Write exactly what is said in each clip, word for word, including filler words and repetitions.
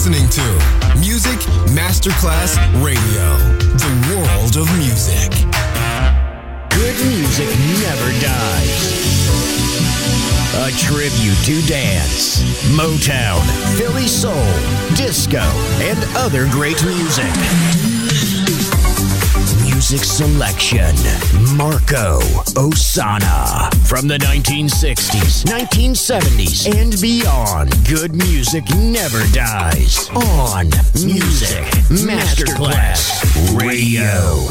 listening to Music Masterclass Radio, the world of music. Good music never dies. A tribute to dance, Motown, Philly soul, disco, and other great music. Music selection, Marco Ossanna. From the nineteen sixties, nineteen seventies, and beyond, good music never dies. On Music Masterclass Radio.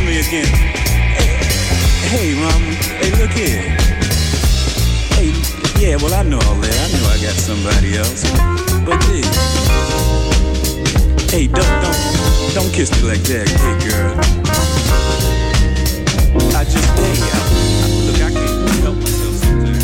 Hey, mama, hey, look here. Hey, Yeah, well, I know all that. I know I got somebody else. But hey, hey, don't, don't, don't kiss me like that, hey, girl. I just, hey, I, look, I can't help myself sometimes.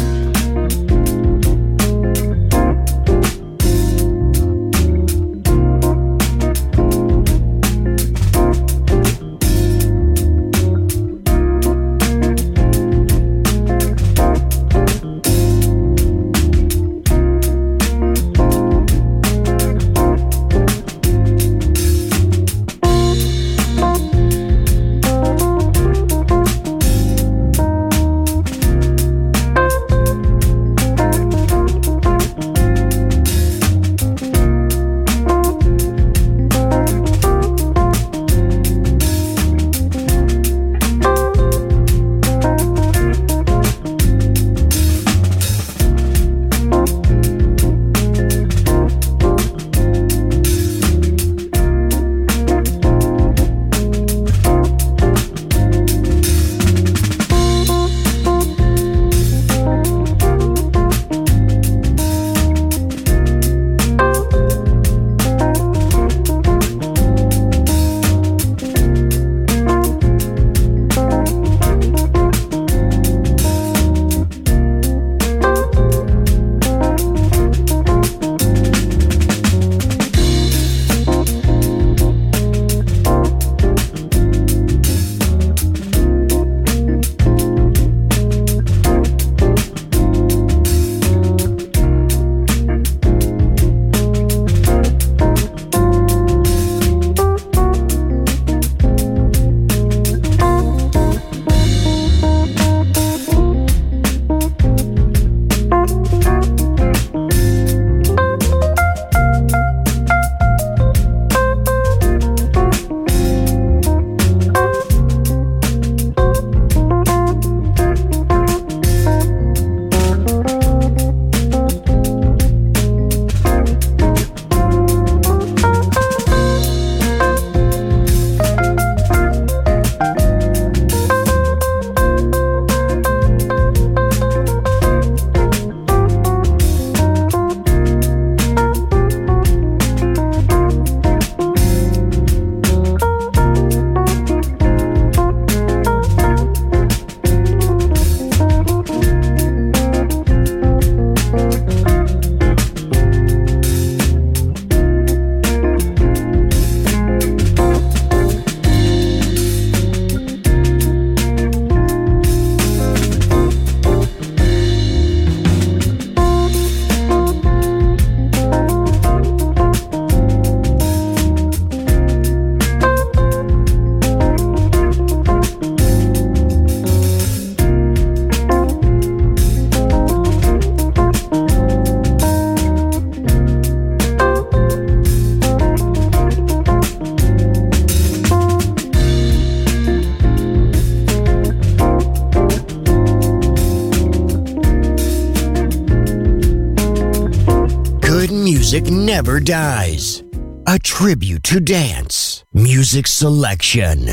Music never dies. A tribute to dance. Music selection.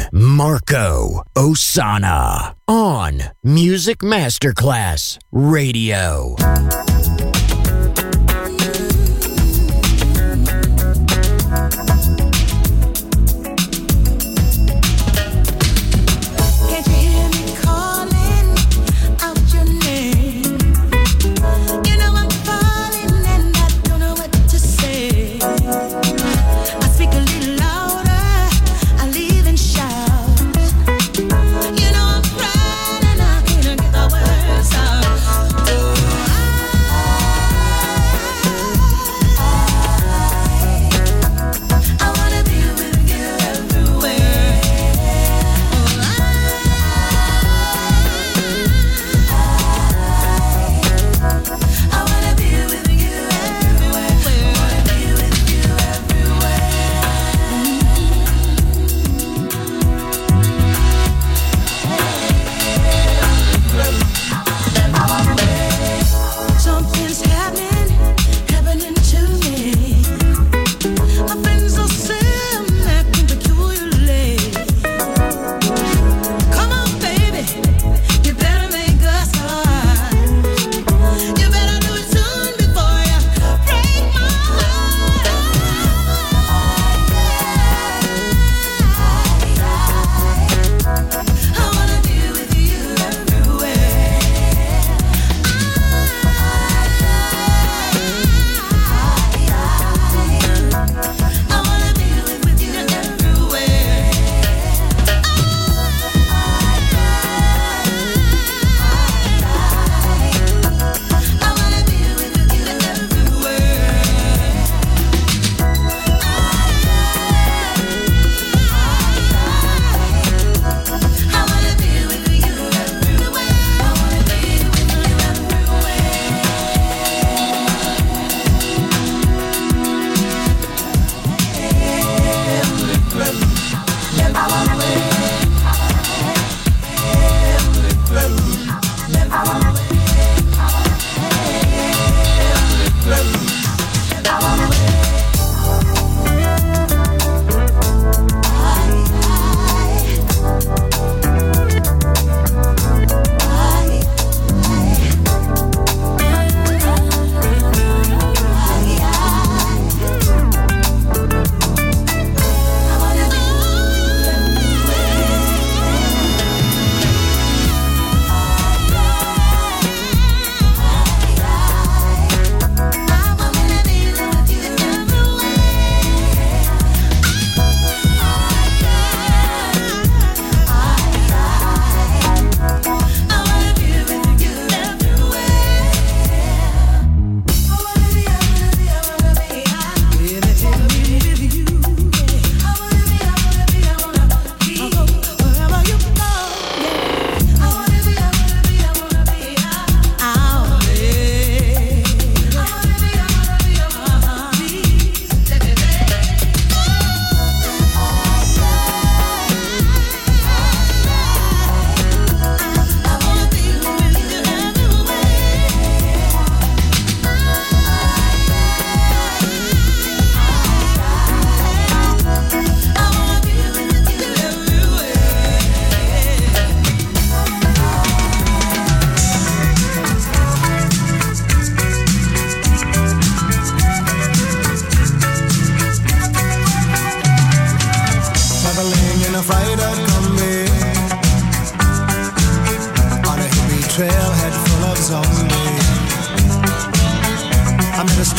Marco Ossanna. On Music Masterclass Radio. You know I'm crying and I can't get the words out. Oh, I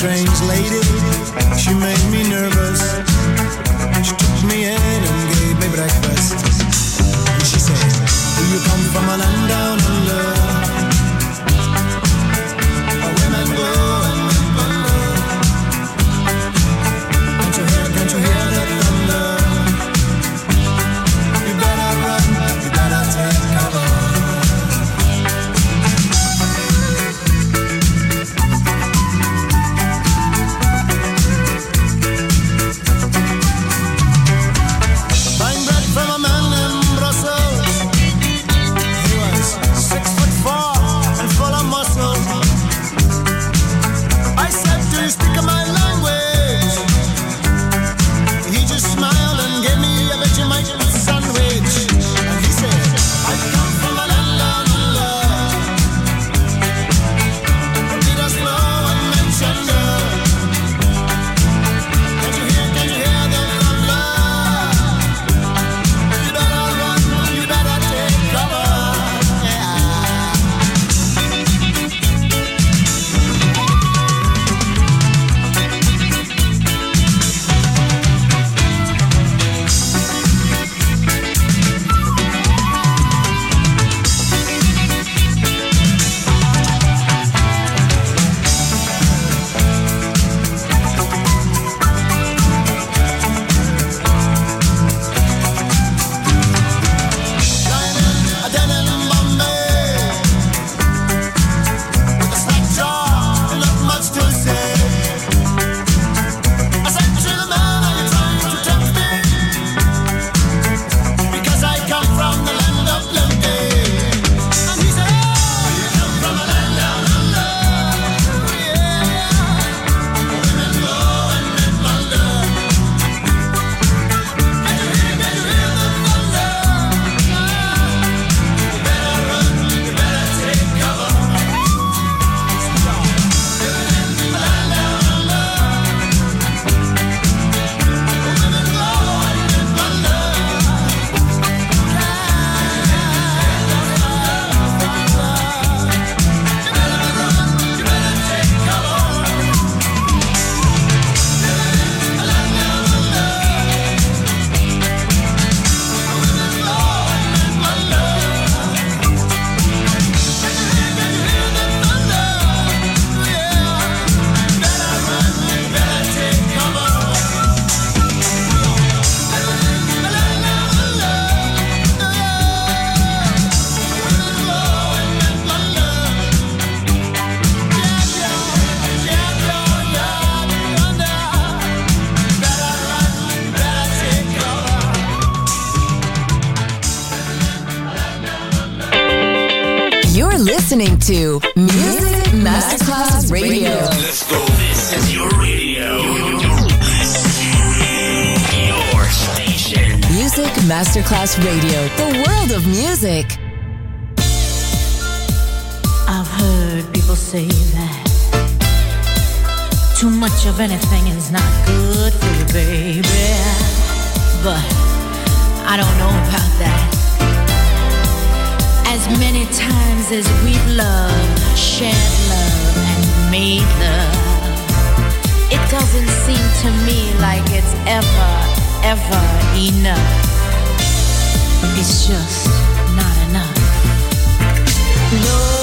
strange lady, she made me nervous. She took me in and gave me breakfast. And she said, do you come from a land down under? Where women go and men wonder. Can't you hear, can't you hear that thunder? You better run, you better take cover. Listening to Music Masterclass Radio. Let's go. This is your radio. Your station. Music Masterclass Radio. The world of music. I've heard people say that too much of anything is not good for you, baby. But I don't know about that. As many times as we've loved, shared love, and made love, it doesn't seem to me like it's ever, ever enough. It's just not enough. No.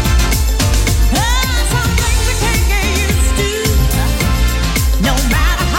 No matter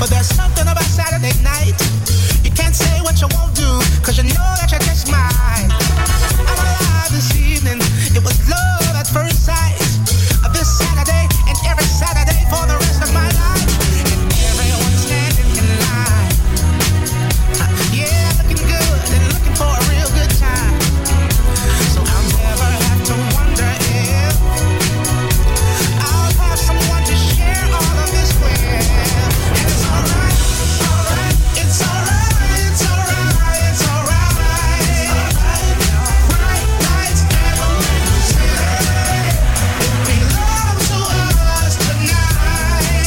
But there's something about Saturday night. You can't say what you won't do, cause you know that you just might. I'm alive this evening. It was love at first sight. This Saturday and every Saturday for the rest of my life. And everyone standing in line. Yeah, looking good and looking for a real good time. So I'll never have to wonder if I'll have someone to share all of this with. And it's alright, alright, it's alright, it's alright, it's alright. Bright lights every city. It belongs to us tonight.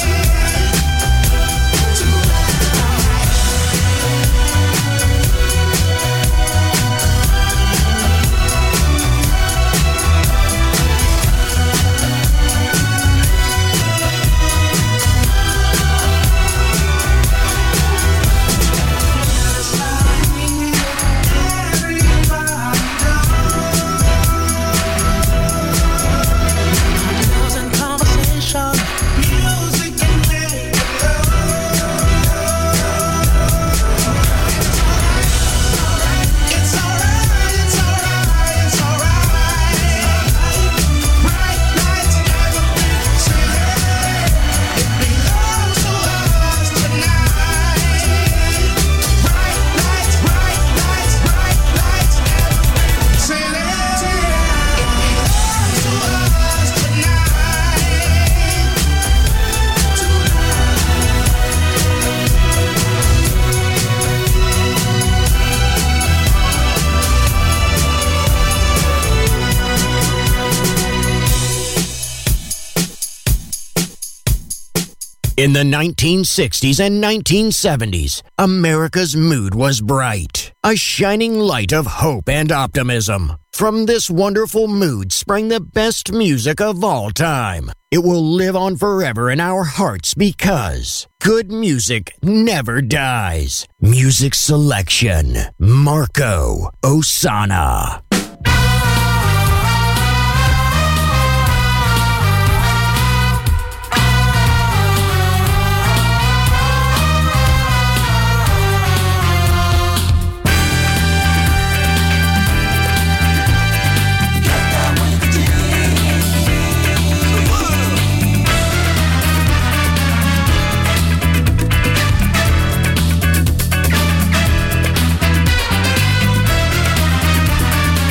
Conversation, music and radio. It's alright, it's alright, it's alright. Bright lights every city. It belongs to us tonight. Bright lights, bright lights, bright lights every city. It belongs to us tonight. In the nineteen sixties and nineteen seventies, America's mood was bright, a shining light of hope and optimism. From this wonderful mood sprang the best music of all time. It will live on forever in our hearts because good music never dies. Music selection, Marco Ossanna. It's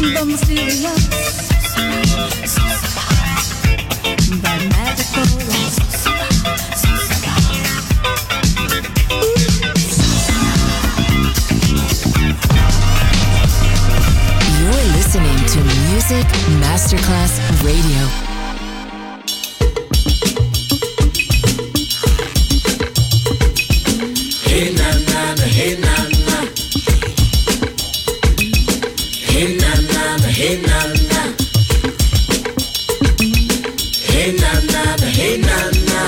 the mysterious, the magical. You're listening to Music Masterclass Radio. Hey na na na, hey na na. Hey na na na, hey na na. Hey na na na, hey na na.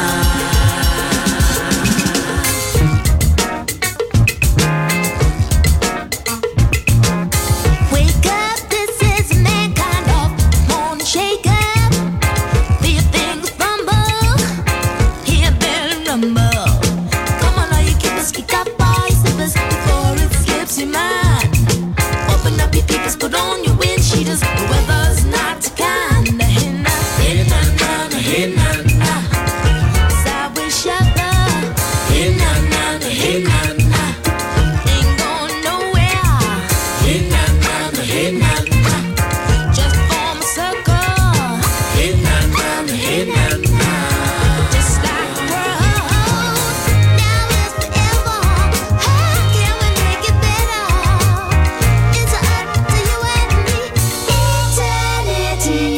Wake up, this is mankind of morning shake up. Feel things rumble, hear bells rumble. Come on, all you keepers, kick up all your slippers before it slips your mind. Open up your peepers, put on your wind cheaters. The weather's not too kind. Hey na, hey na na na, hey na na. Sideways shopper. Hey na na na, hey na na. Ain't going nowhere. Hey na na na, hey na na. Just form a circle. Hey na na na, hey na na. Just like the world. Now is forever. How can we make it better? It's up to you and me. Eternity.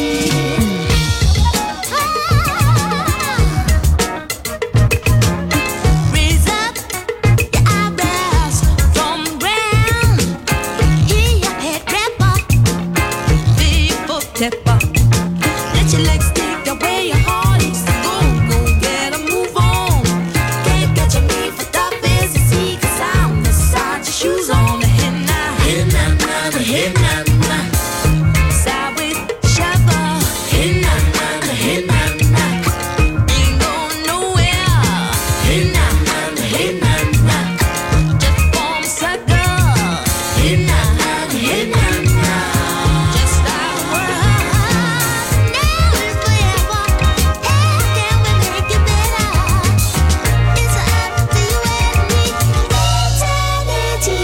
Raise up your eyebrows from the ground. Hear your head wrap up. Feel your foot tap up. Let your legs dig the way your heart is. Go, go, get a move on. Can't catch me for tough as you see, 'cause I'm beside your shoes on. Hey na, Hey na na na, hey na na. sideways shopper. Hey na na na, hey na na. Ain't going nowhere. Hey na na na, hey na na. Just form a circle. Hey na na na, hey na na. Just like the world. Now is forever. How can we make it better? It's up to you and me. Eternity.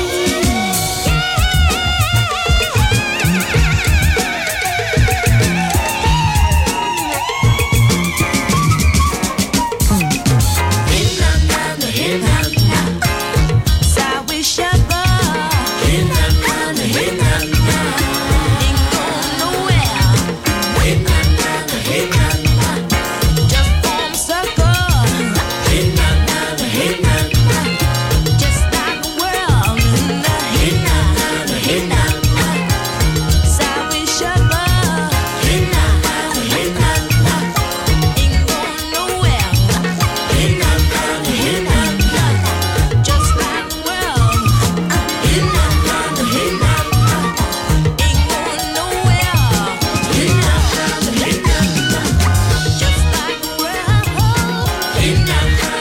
Hey na na na, hey na na. Sideways shopper. Hey na na na, hey na na. Ain't going nowhere. Hey na na na, hey na na. Just form a circle. Hey na na na, hey na na. Just like the world. Hey na na na, hey na na. Sideways shopper. Hey na na na, hey na na. Ain't going nowhere. Hey na na na, hey na na. Just like the world. Hey na na na, hey na na. Ain't going nowhere. Hey na na na, hey na na. Just like the world. Hey na na na.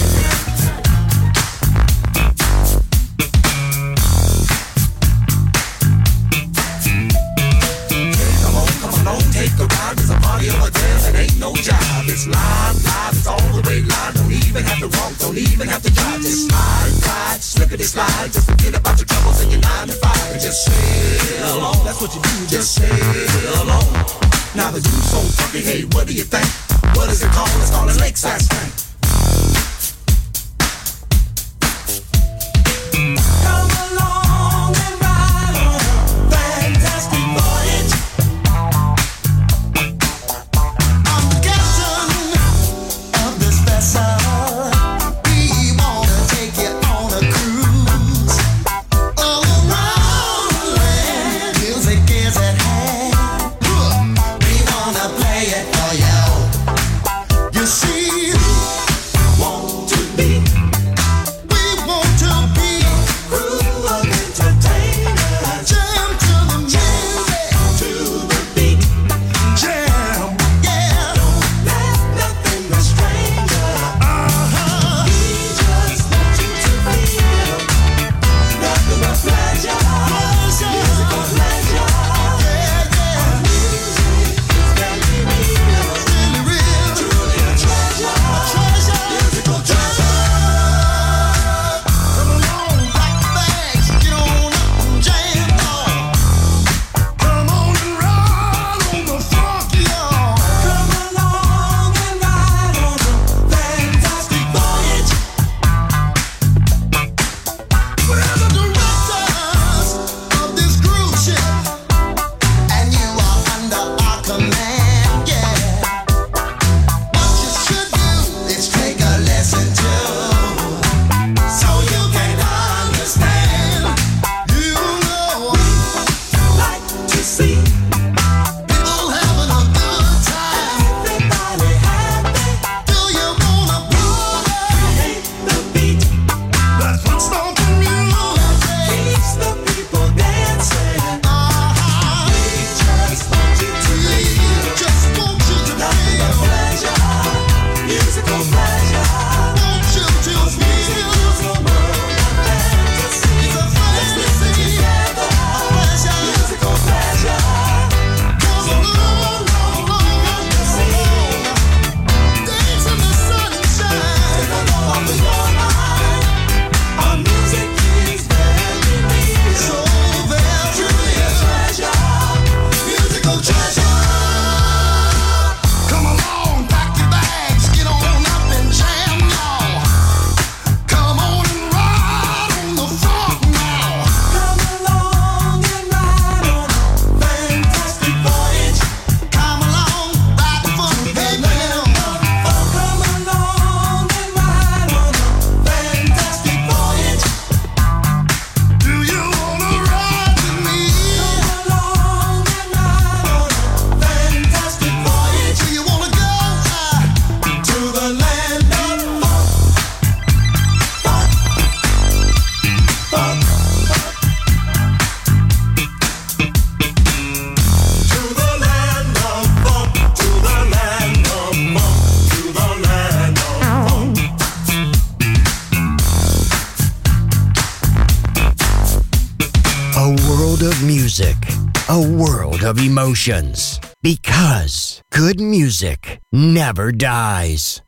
Come on, come along, take a ride. There's a party on a dance and ain't no job. It's live, live, it's all the way live. Don't even have to walk, don't even have to drive. Just slide, slide, slippity slide. Just forget about your troubles and your nine to five and just sail along. That's what you do, just sail along. Now the dude's so funky, hey, what do you think? What is it called? It's called a lakeside swing. Come along and ride on a fantastic voyage. I'm captain of this vessel. We wanna take you on a cruise all around the land. Music is at hand. We wanna play it for you. You see, world of music, a world of emotions. Because good music never dies.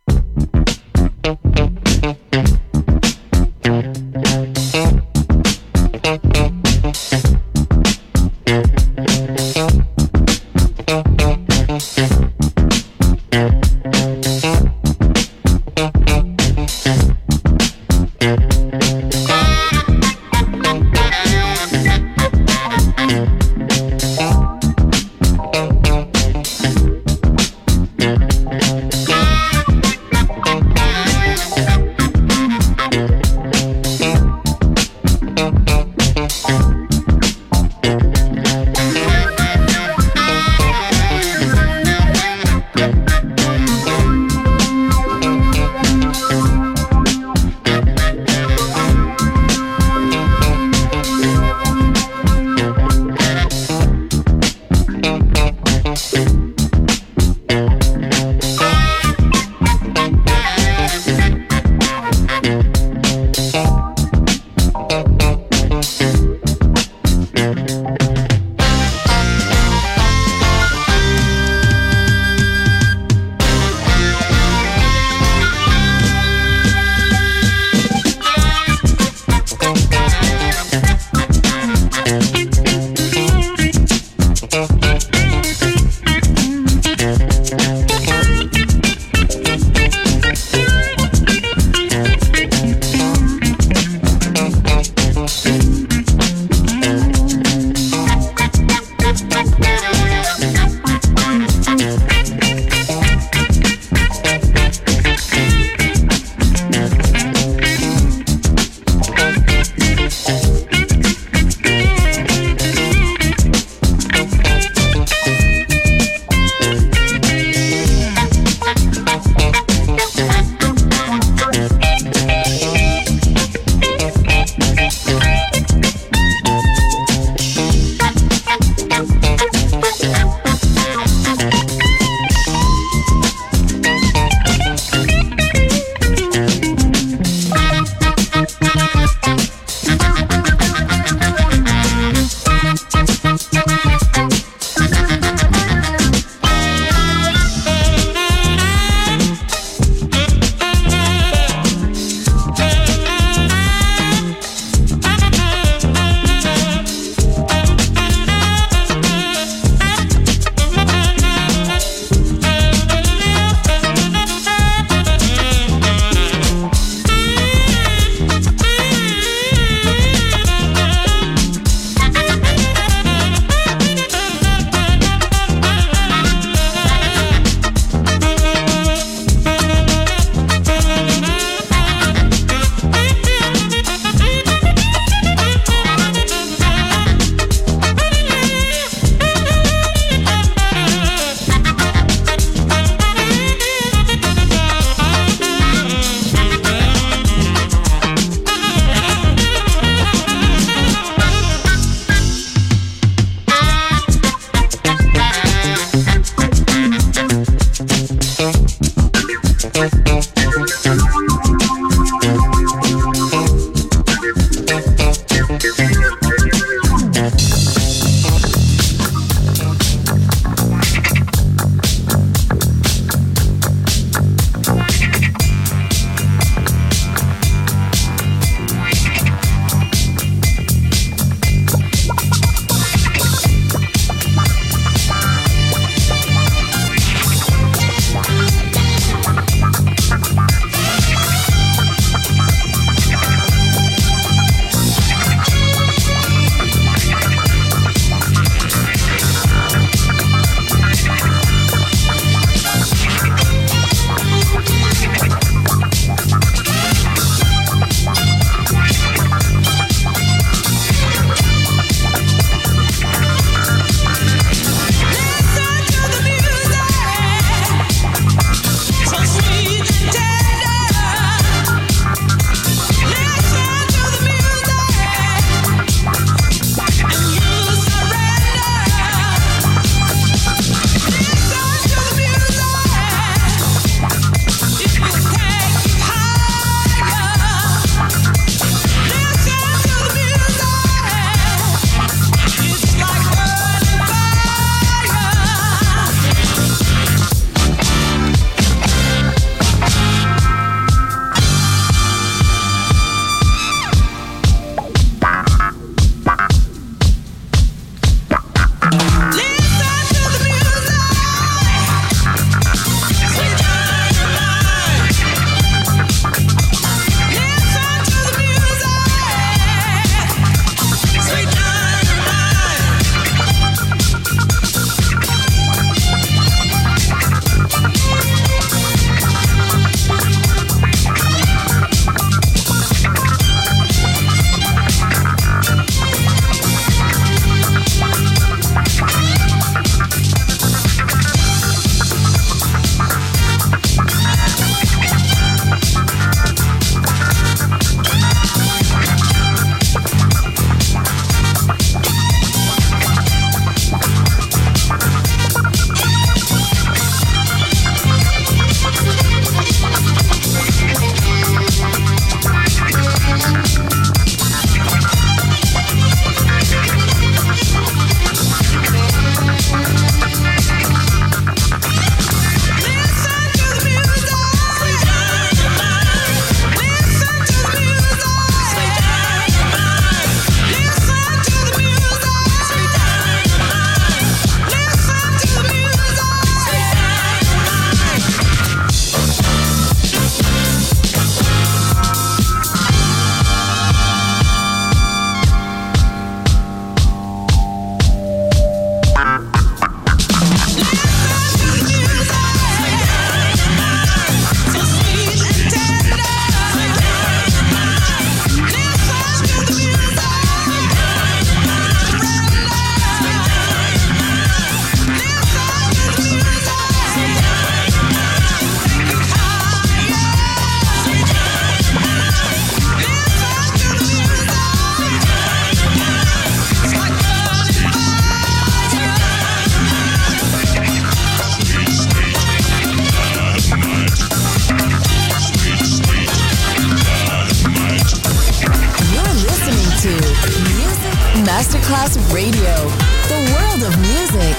Masterclass Radio, the world of music.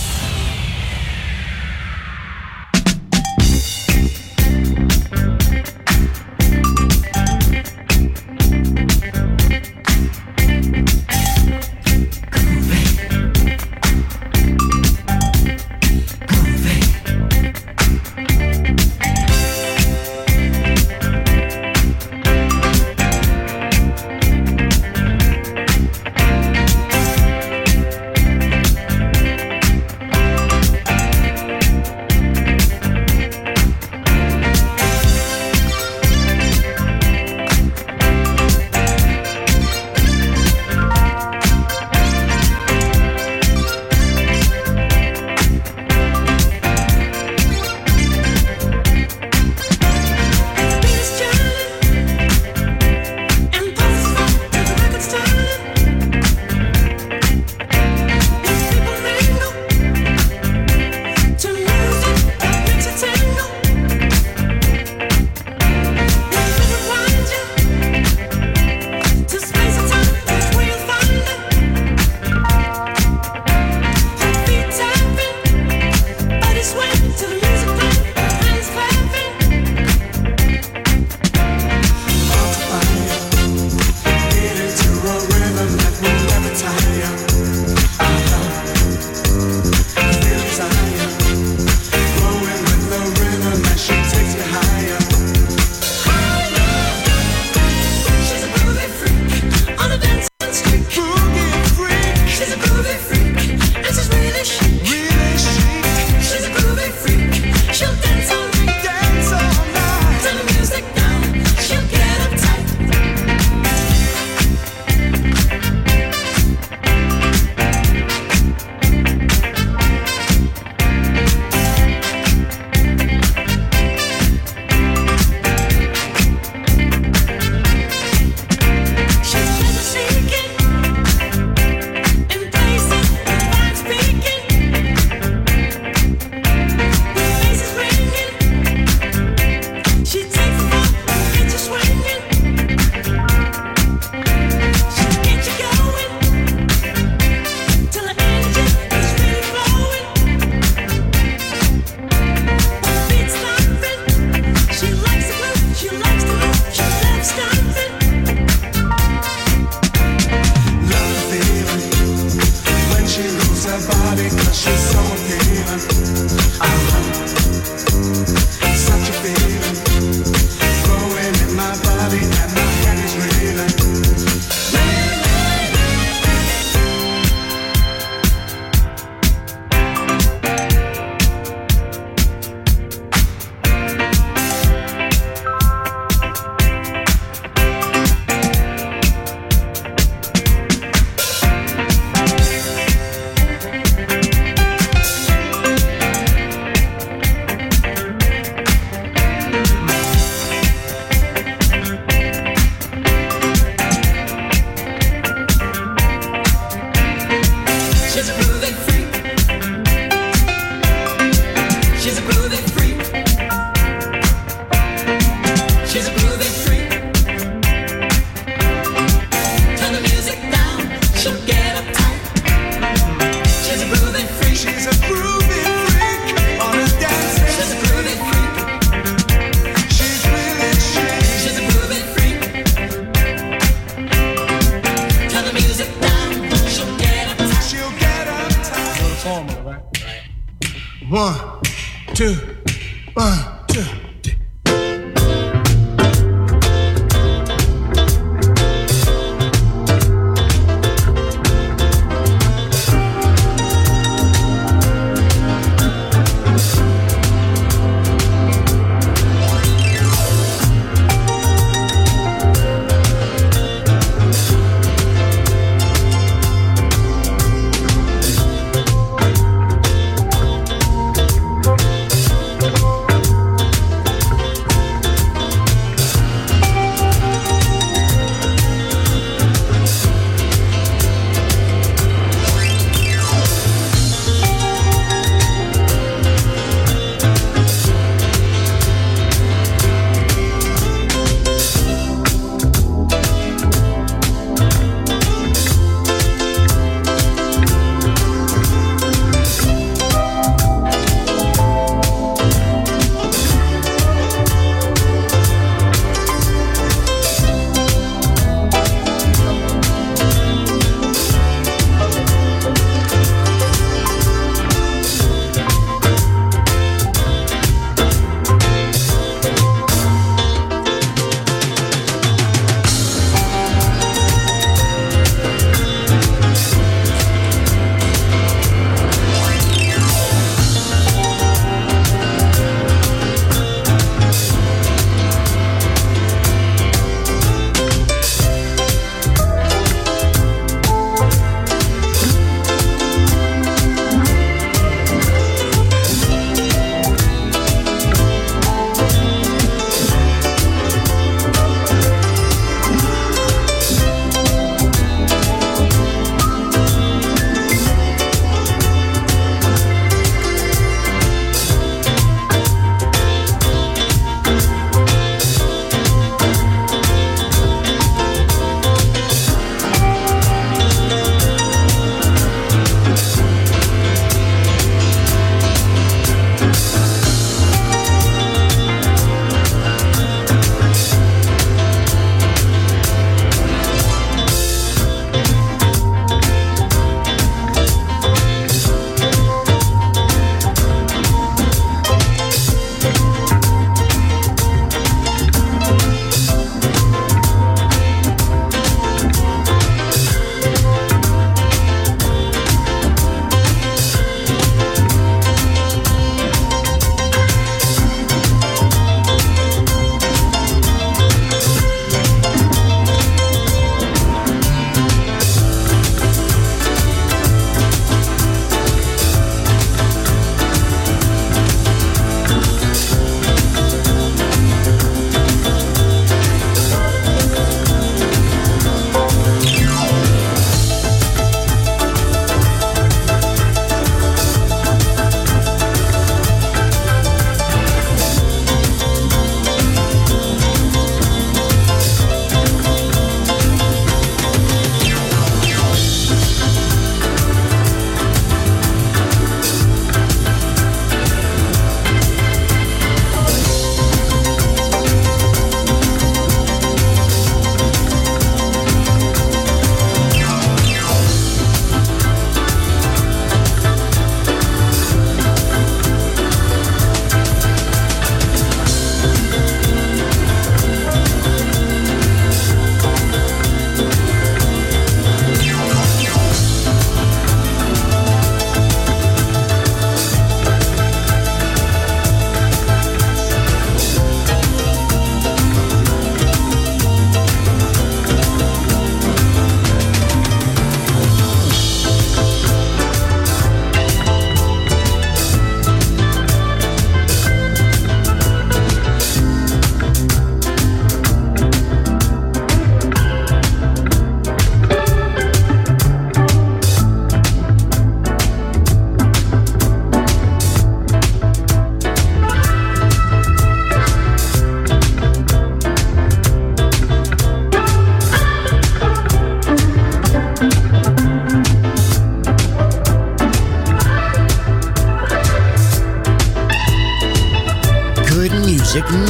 One, two, one, two.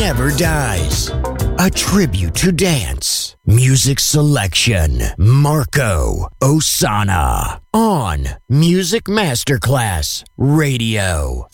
never dies. A tribute to dance. Music selection, Marco Ossanna. On Music Masterclass Radio.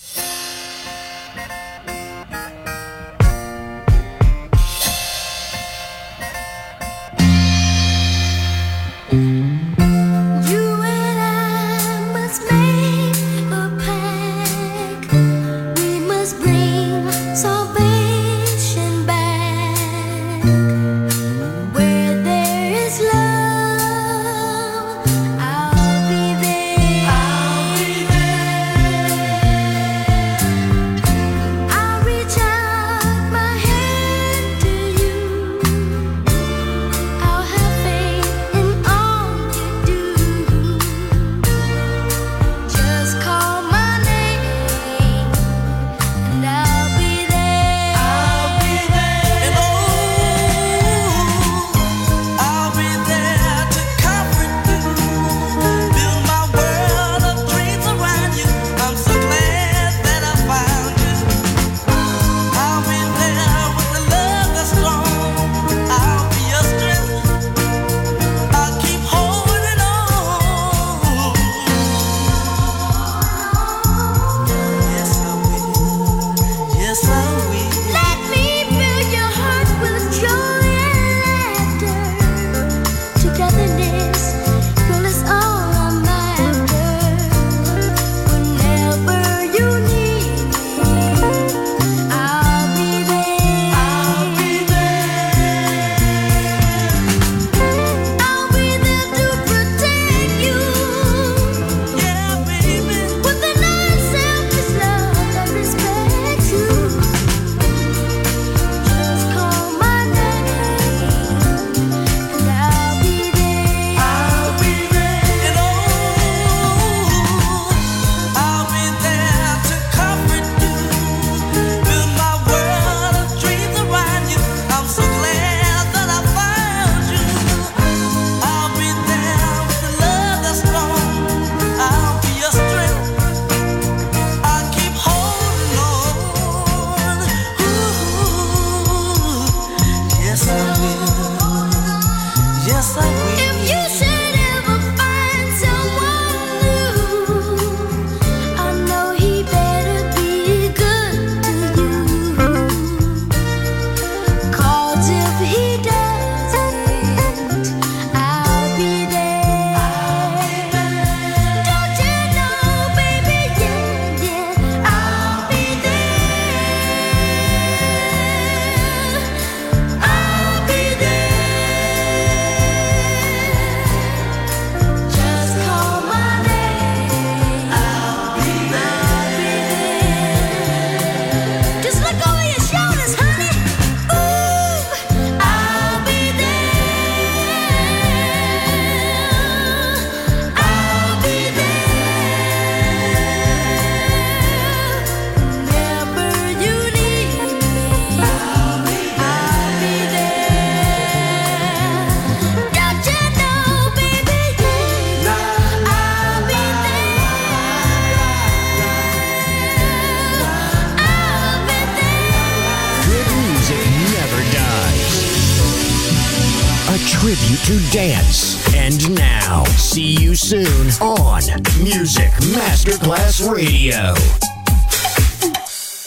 Tribute to dance. And now, see you soon on Music Masterclass Radio.